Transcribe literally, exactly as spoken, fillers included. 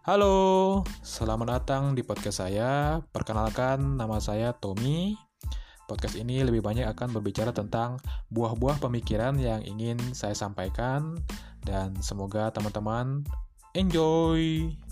Halo, selamat datang di podcast saya. Perkenalkan, nama saya Tommy. Podcast ini lebih banyak akan berbicara tentang buah-buah pemikiran yang ingin saya sampaikan, dan semoga teman-teman enjoy.